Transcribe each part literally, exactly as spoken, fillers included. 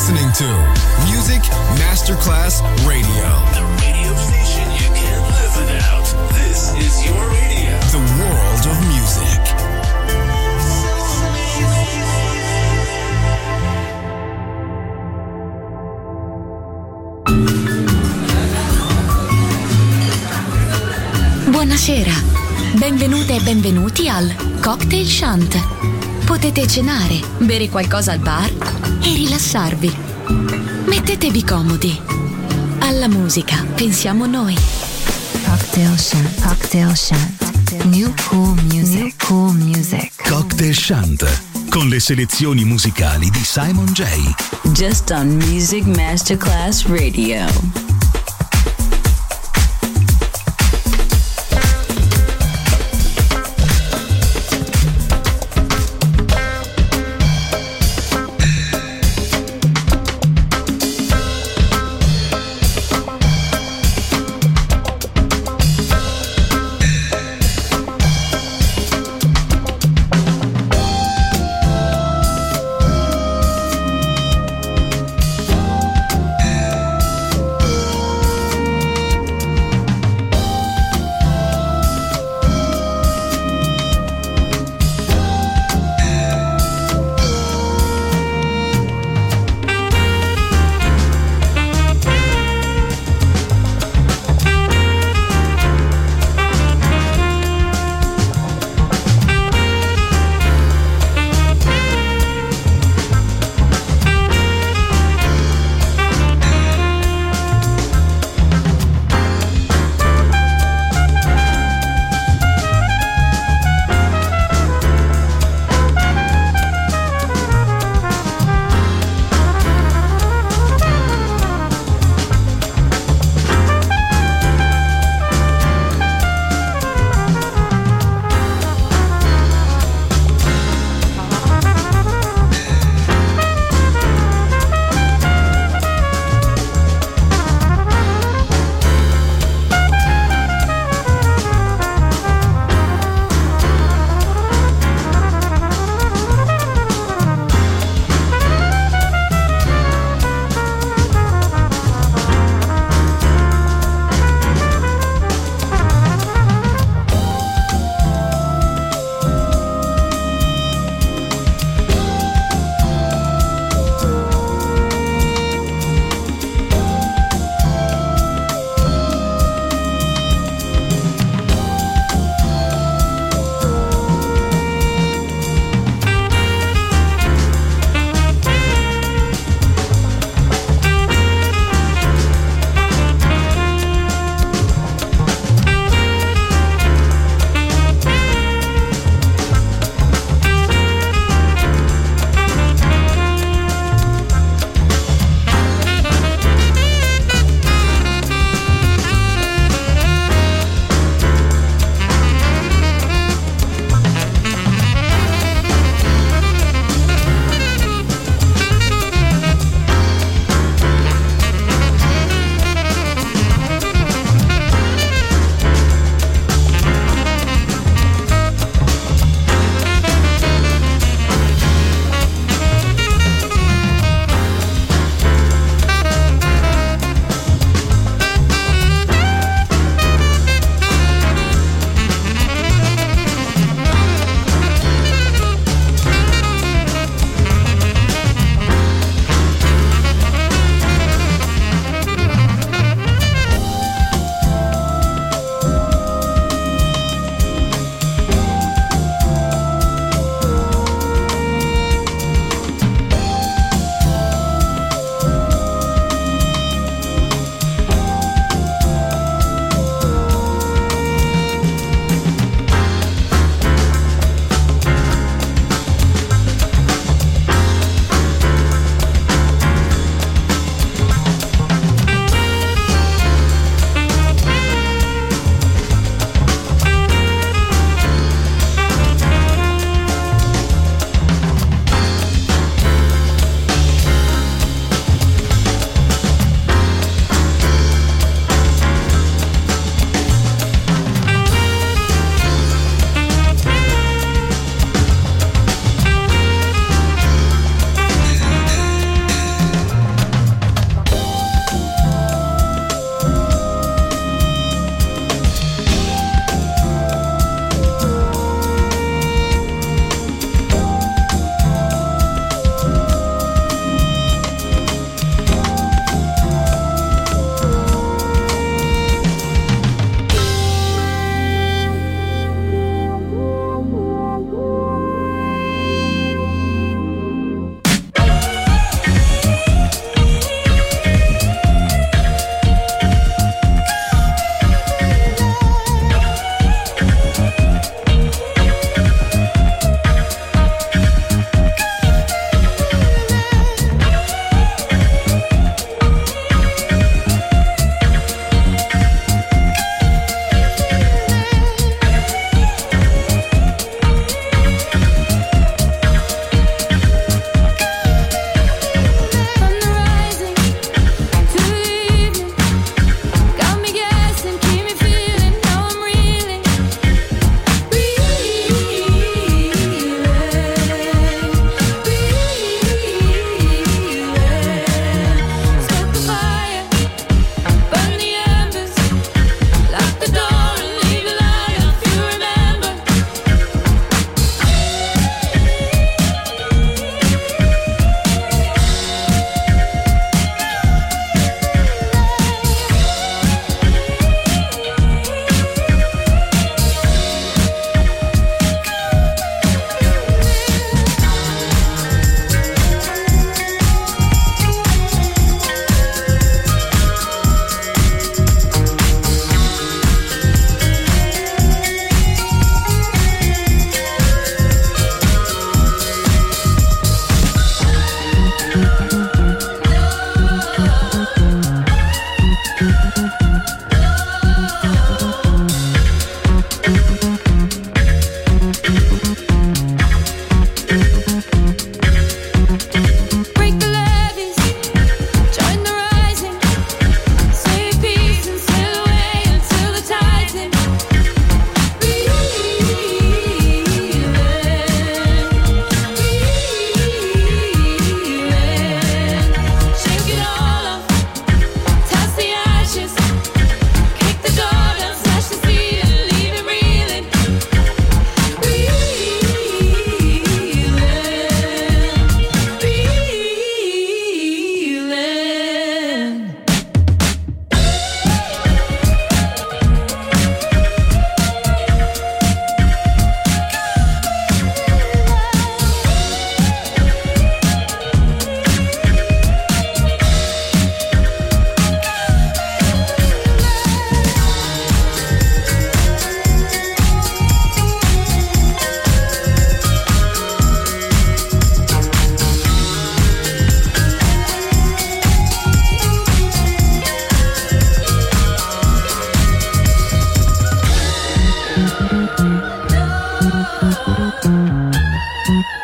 listening to Music Masterclass Radio. The radio station you can't live without. This is your radio. The world of music. Buonasera, benvenute e benvenuti al Cocktail Shant. Potete cenare, bere qualcosa al bar e rilassarvi. Mettetevi comodi. Alla musica pensiamo noi. Cocktail Shant, Cocktail Shant. New cool music, New cool music. Cocktail Shant, con le selezioni musicali di Simon J. Just on Music Masterclass Radio.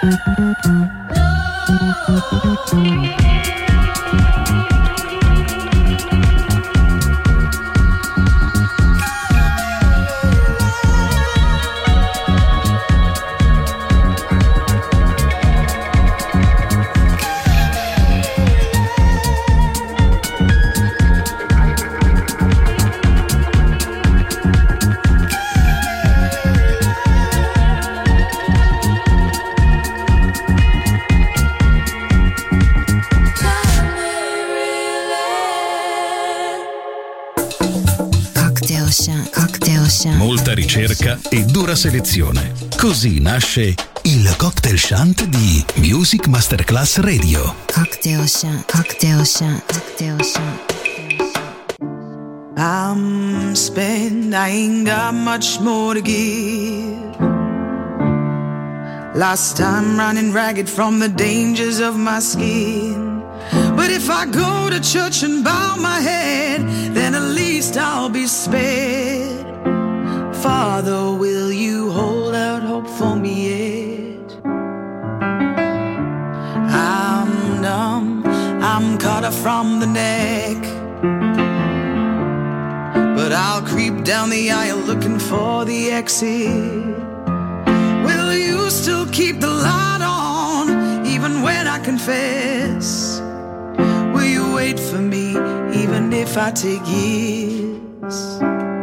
Molta ricerca e dura selezione. Così nasce il Cocktail Shant di Music Masterclass Radio. Cocktail Shant, Cocktail Shant, Cocktail Shant. I'm spent, I ain't got much more to give. Last time running ragged from the dangers of my skin. But if I go to church and bow my head, then at least I'll be spared. Father, will you hold out hope for me yet? I'm numb, I'm cut off from the neck, but I'll creep down the aisle looking for the exit. Will you still keep the light on, even when I confess? Will you wait for me, even if I take years?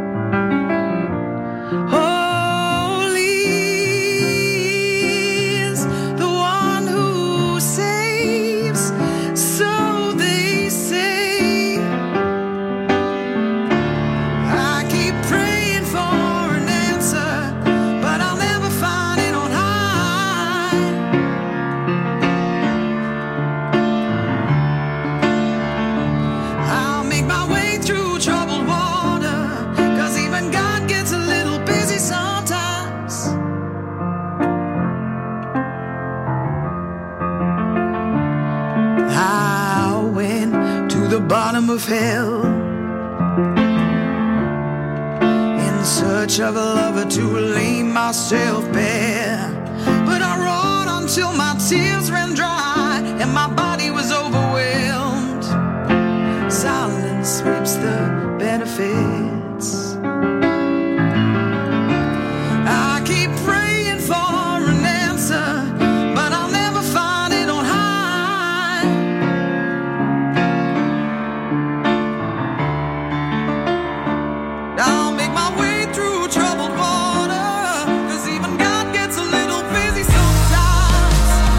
Bottom of hell, in search of a lover to lay myself bare. But I wrote until my tears ran dry and my body was overwhelmed. Silence reaps the benefits. I keep praying for an answer, but I'll never find it on high. I'll make my way through troubled water, 'cause even God gets a little busy sometimes.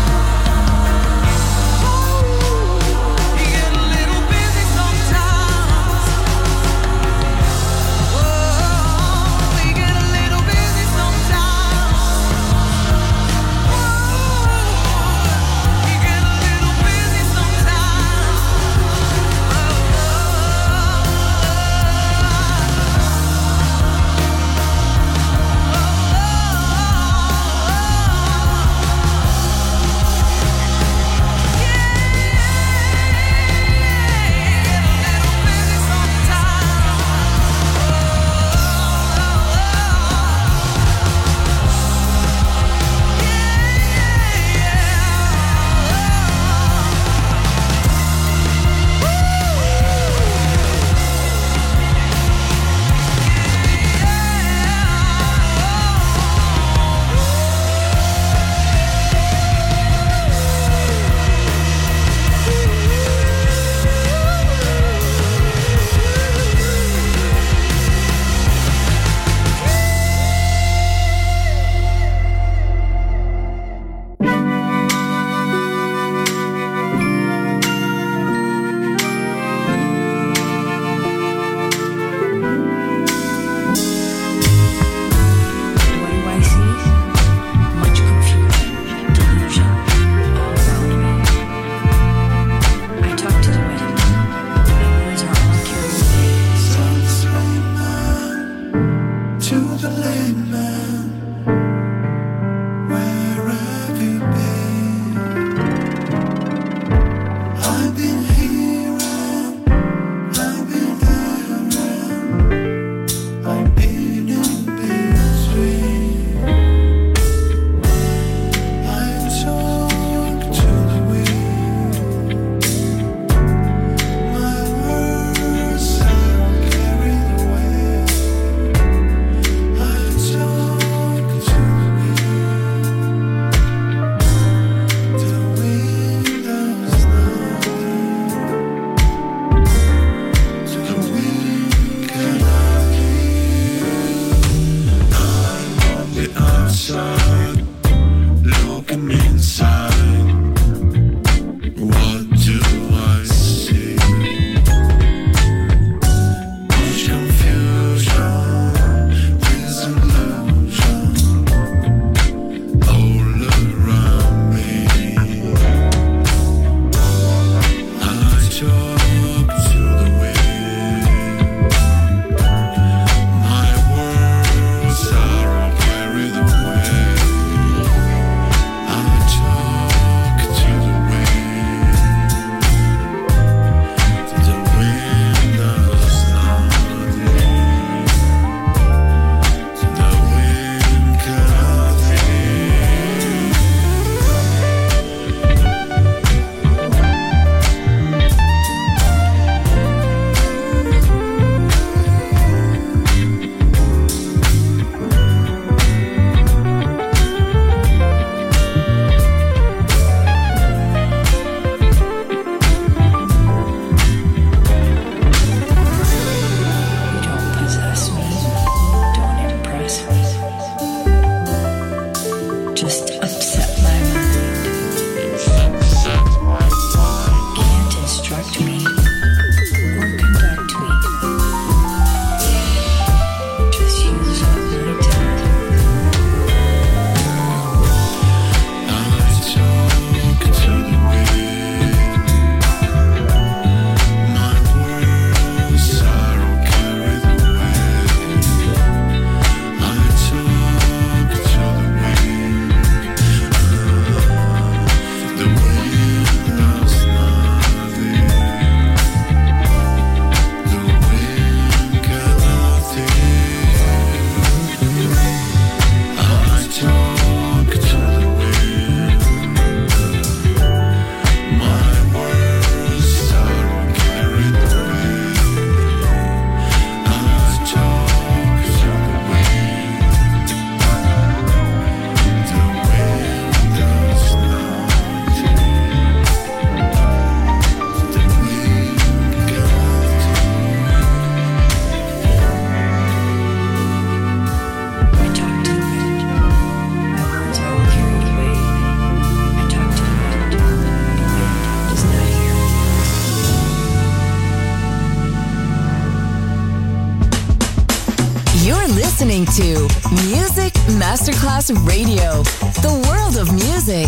to Music Masterclass Radio, the world of music.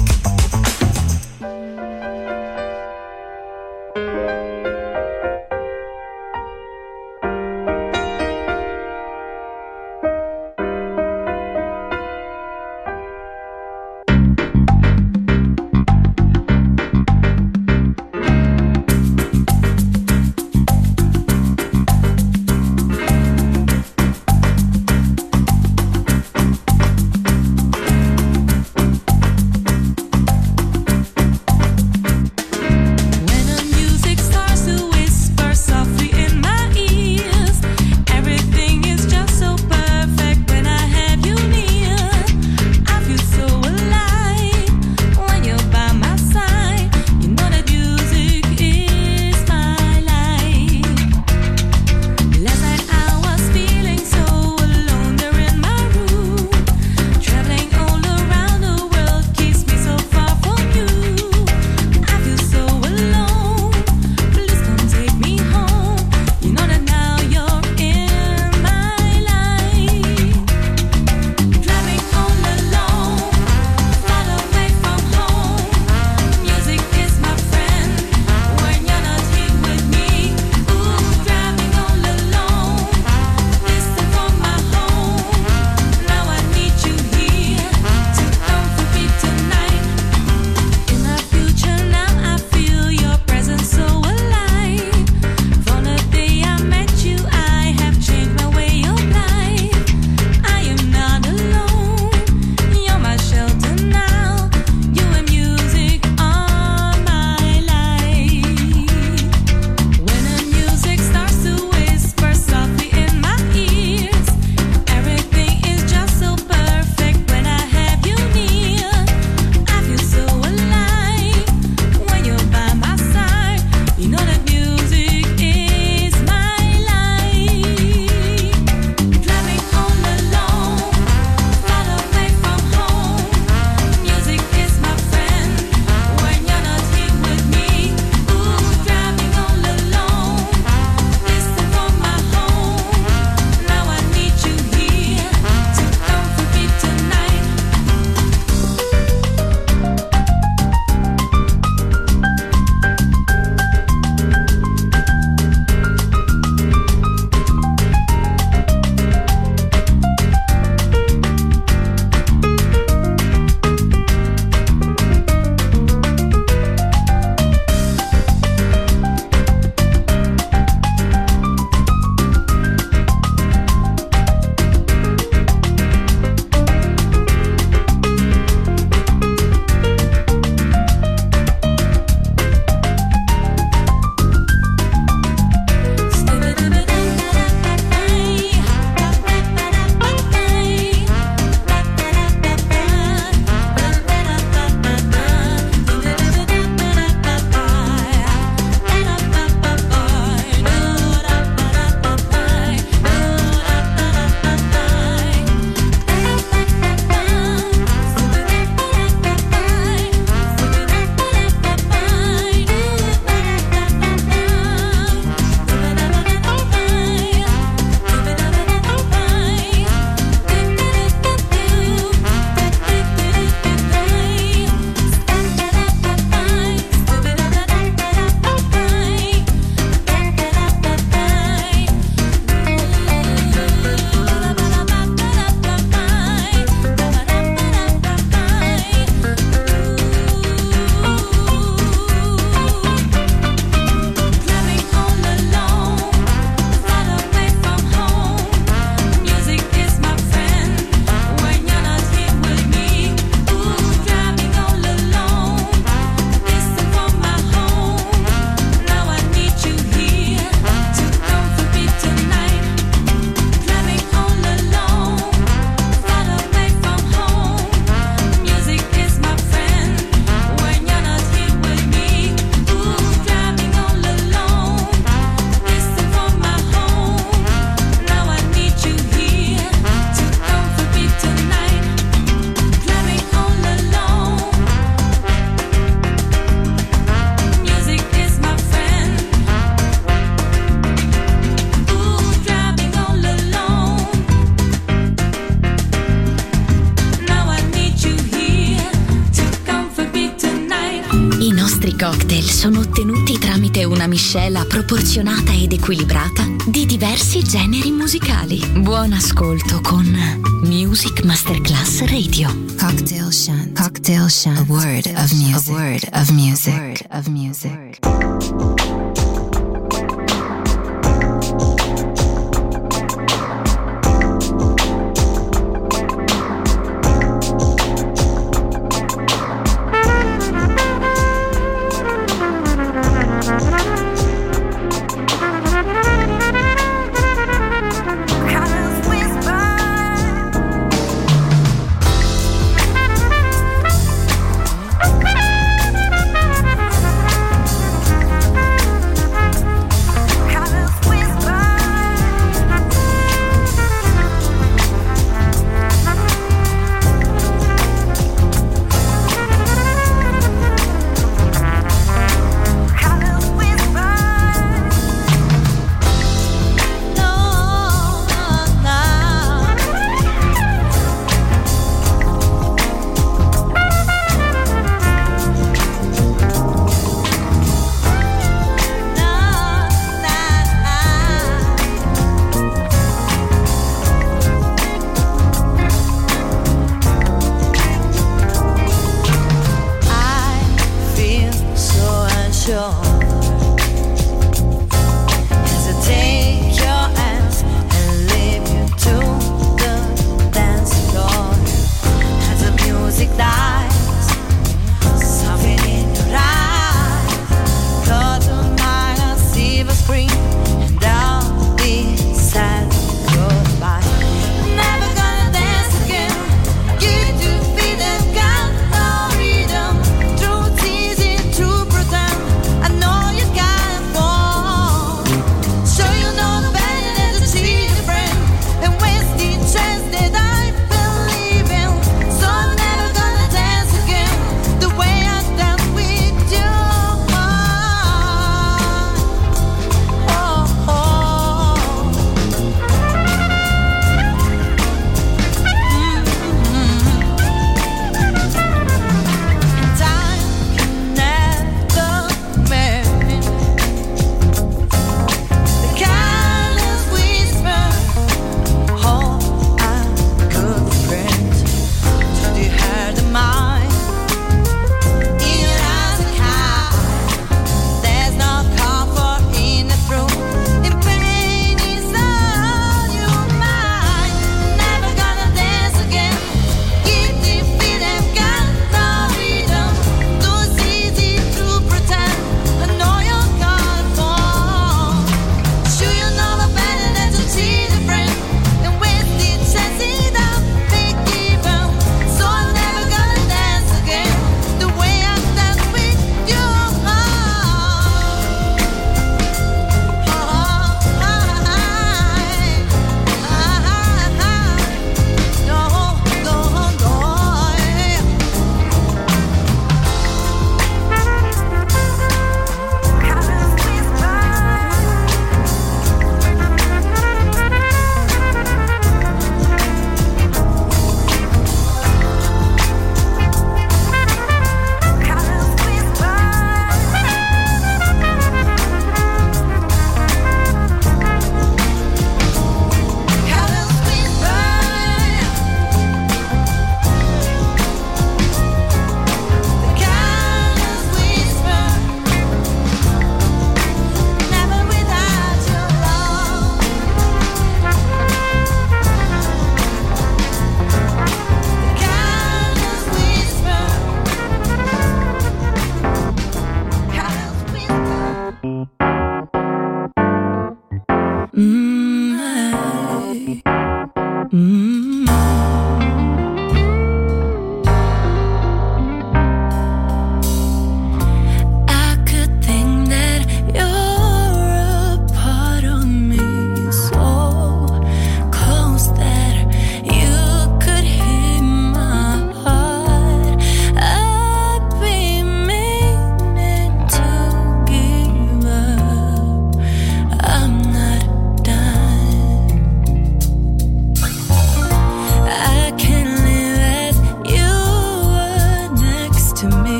migliori cocktail sono ottenuti tramite una miscela proporzionata ed equilibrata di diversi generi musicali. Buon ascolto con Music Masterclass Radio. Cocktail Shant. Cocktail Shant. A word of music. A word of music. A word of music.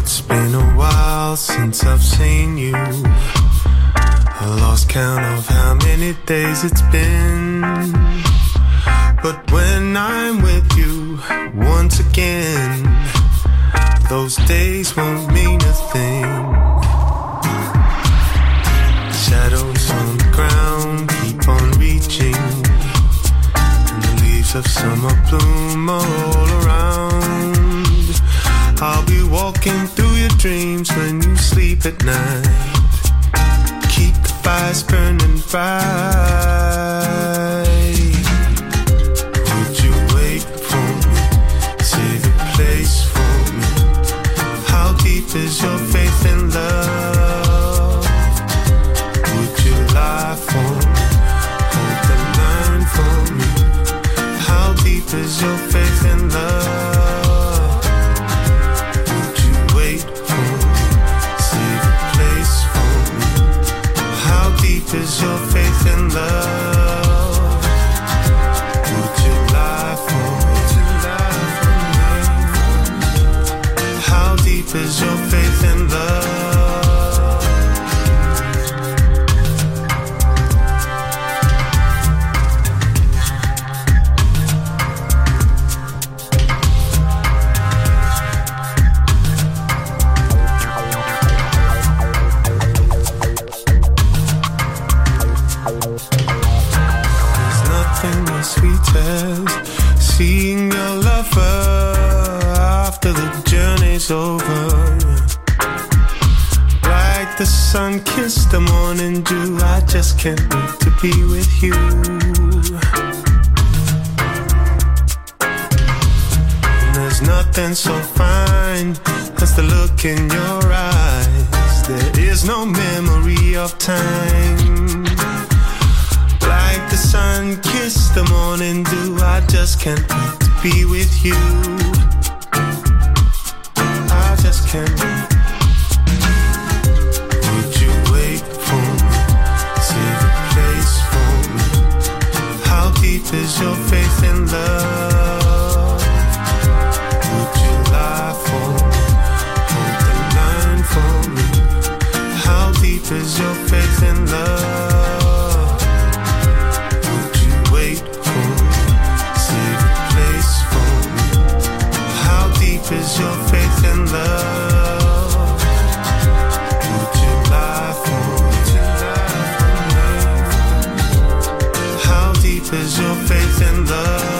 It's been a while since I've seen you. I lost count of how many days it's been. But when I'm with you once again, those days won't mean a thing. Shadows on the ground keep on reaching, and the leaves of summer bloom all around. I'll be walking through your dreams when you sleep at night. Keep the fires burning bright. Would you wait for me? Save a place for me. How deep is your faith in love? Would you lie for me? Hold the line for me. How deep is your faith in love? Would you wait for me? Save a place for me. How deep is your faith in love? Would you lie for me? How deep is your faith in love? Sweetest, seeing your lover after the journey's over. Like the sun kissed the morning dew, I just can't wait to be with you. And there's nothing so fine as the look in your eyes. There is no memory of time. Like the sun kissed the morning dew, I just can't wait to be with you. I just can't wait. Would you wait for me? Save a place for me. How deep is your faith in love? Would you lie for me? Hold the line for me. How deep is your faith in love? Is your faith in love? Would you lie for me? How deep is your faith in love?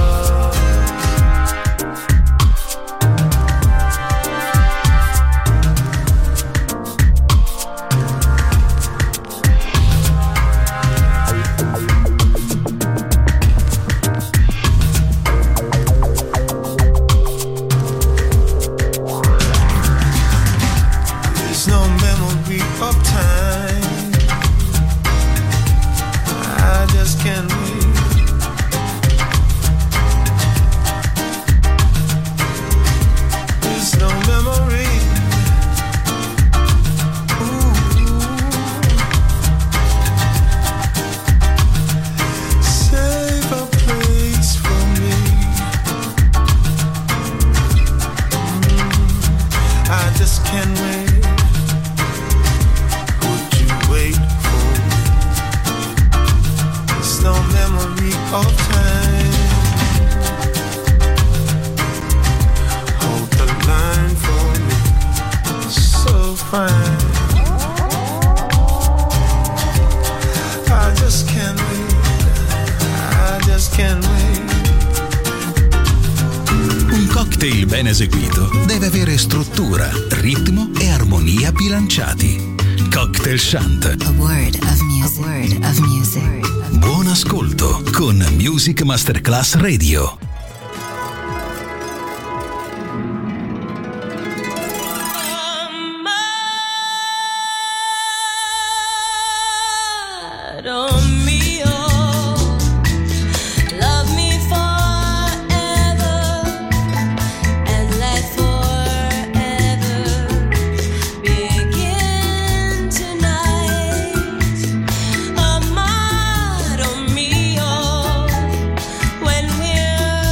Ben eseguito deve avere struttura, ritmo e armonia bilanciati. Cocktail Shant. A word of music. A word of music. Buon ascolto con Music Masterclass Radio. When we're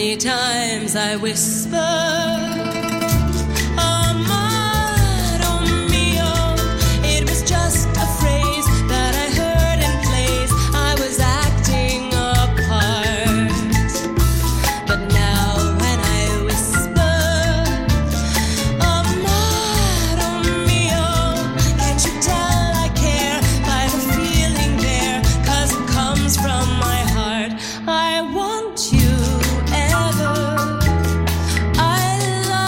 Many times I whisper. I want you ever. I love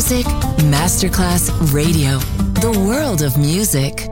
Music Masterclass Radio. The world of music.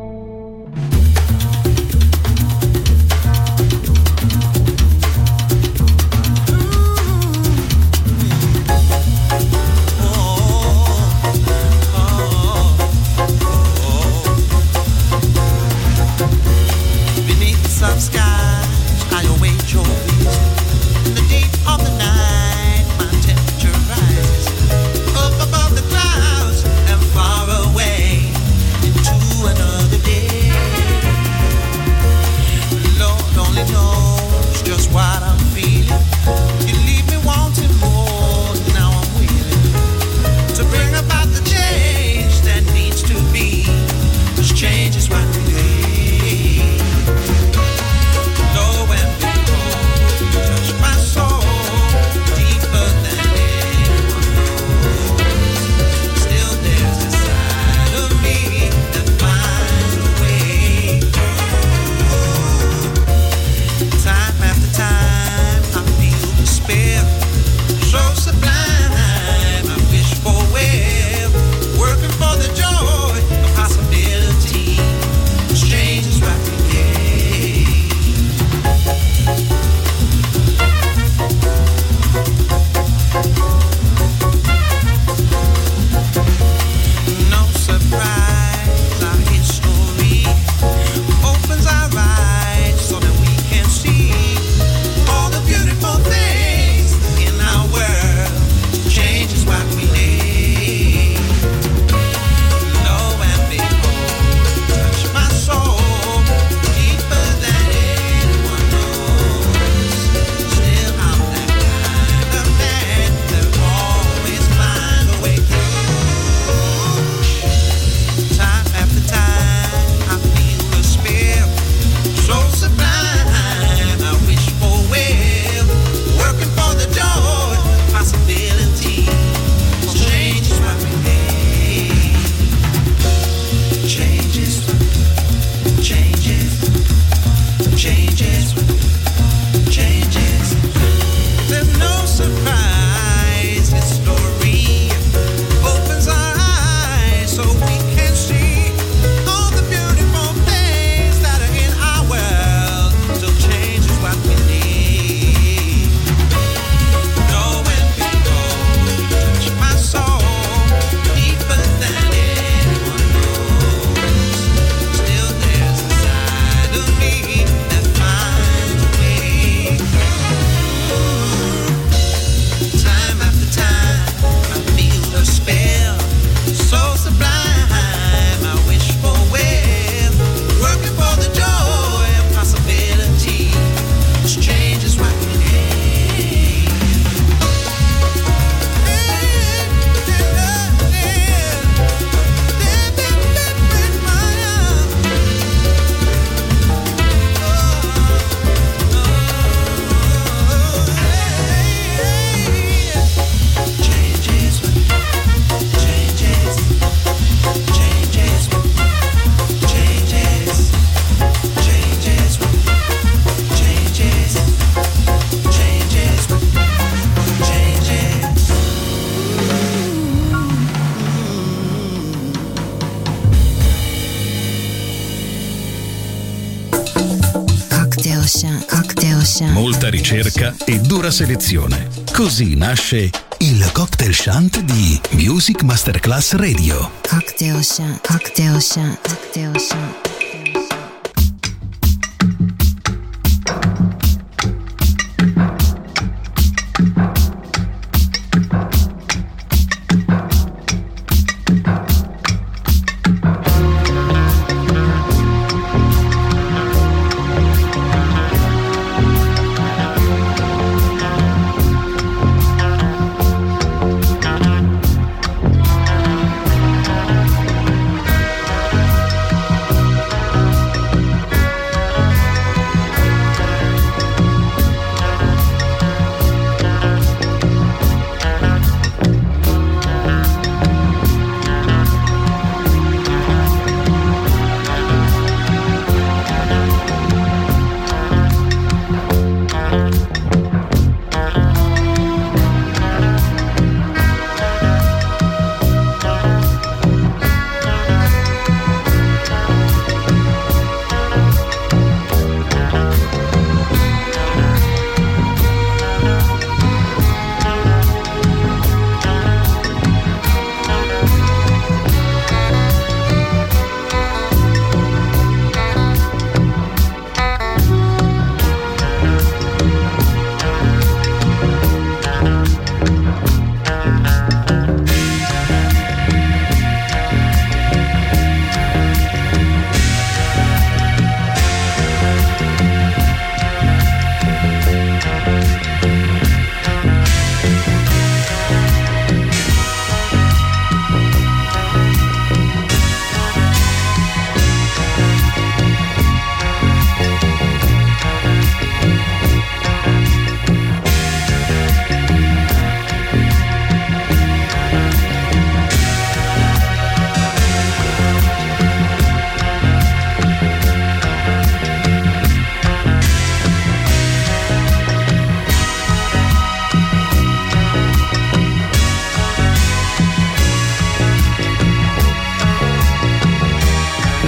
Molta ricerca e dura selezione. Così nasce il Cocktail Shant di Music Masterclass Radio. Cocktail Shant, Cocktail Shant, Cocktail Shant.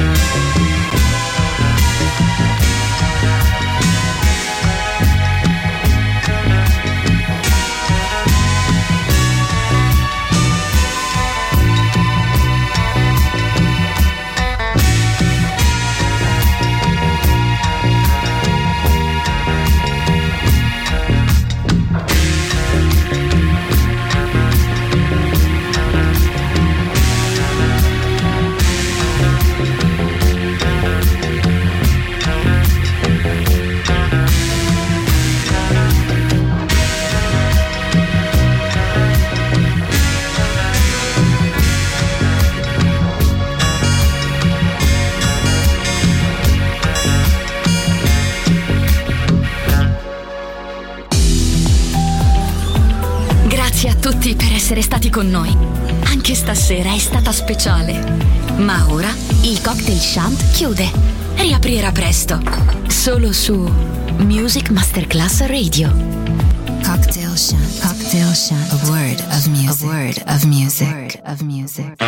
Per essere stati con noi. Anche stasera è stata speciale. Ma ora il Cocktail Shant chiude. Riaprirà presto. Solo su Music Masterclass Radio. Cocktail Shant. Cocktail Shant. A word of music. A word of music. A word of music.